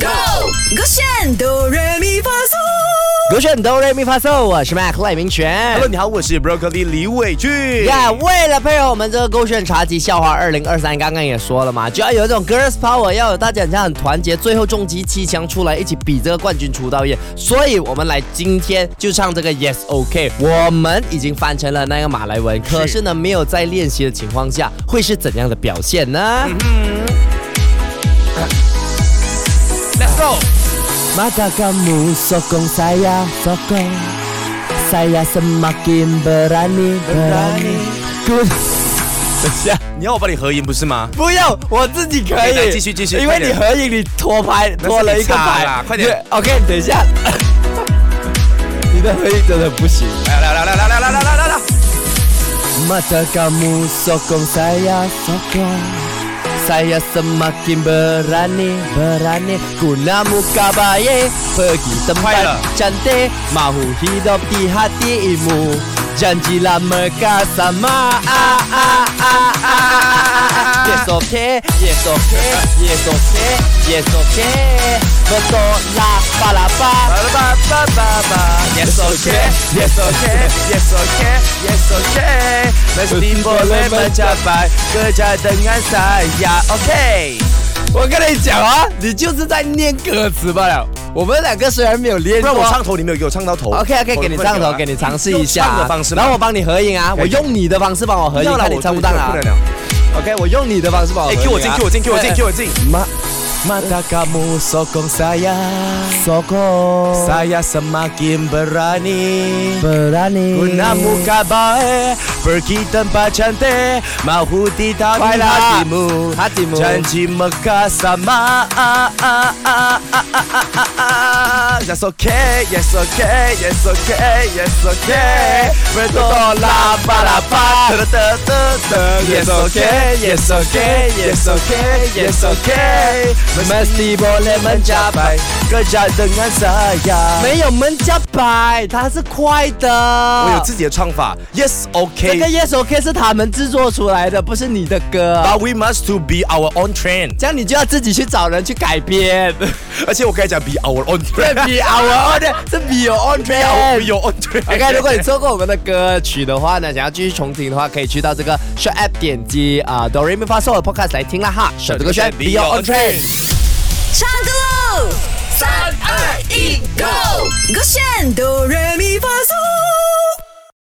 Go， 勾选哆来咪发嗦。 勾选哆来咪发嗦，我是 Mac 赖明全。 Hello， 你好，我是 Broccoli 李伟俊。 为了配合我们这个勾选茶集笑话2023，刚刚也说了嘛，就要有一种 Girls Power， 要有大家很团结，最后重击7强出来，一起比这个冠军出道夜。所以我们来今天就唱这个 Yes OK。我们已经翻成了那个马来文，可是呢，没有在练习的情况下，会是怎样的表现呢 ？Let's go。 Mata kamu sokong saya, sokong saya semakin berani. 等一下，你要我帮你合音不是吗？ 不用，我自己可以。 继续， 因为你合影，你拖了一个牌， 快点。 OK， 等一下，你的合影真的不行。 来。 Mata kamu sokong saya, sokong.Saya semakin berani Guna muka baik Pergi tempat cantik Mahu hidup di hatimu Janjilah mereka sama Yes okay Yes okay Yes okay Yes okay Betul lah palapa Yes okay Yes okay Yes okay Yes okay Mesti boleh mencapai Kerja dengan saya。OK， 我跟你讲啊，你就是在念歌词罢了。我们两个虽然没有练过， 不然我唱头，你没有给我唱到头。 OK， 给你唱头，给你尝试一下。 唱的方式， 然后我帮你合影啊，我用你的方式帮我合影，看你唱不唱啊。OK， 我用你的方式帮我合影。 给我进。 Mata kamu sokong saya, sokong saya semakin berani Guna muka baik Pergi tempat cantik Mahu ditaati hatimu Janji Mekah sama Yes okay Yes okay Yes okay Yes okay Bertolak balapan Yes okay Yes okay Yes okay Yes okay Mesti boleh mencapai Kerja dengan saya 没有mencapai，它是快的。 我有自己的唱法 Yes OK， 这个 Yes OK 是他们制作出来的，不是你的歌。 But we must to be our own trend， 这样你就要自己去找人去改编。 而且我刚才讲 be our own trend， Be our own， 是 be your own trend， be your own trend。 OK， 如果你错过我们的歌曲的话呢，想要继续重听的话，可以去到这个 Short App 点击哆来咪发嗦的 Podcast 来听啦哈。选这个选 Be your own trend。 唱歌喽！3、2、1，Go！ 勾选哆来咪发嗦。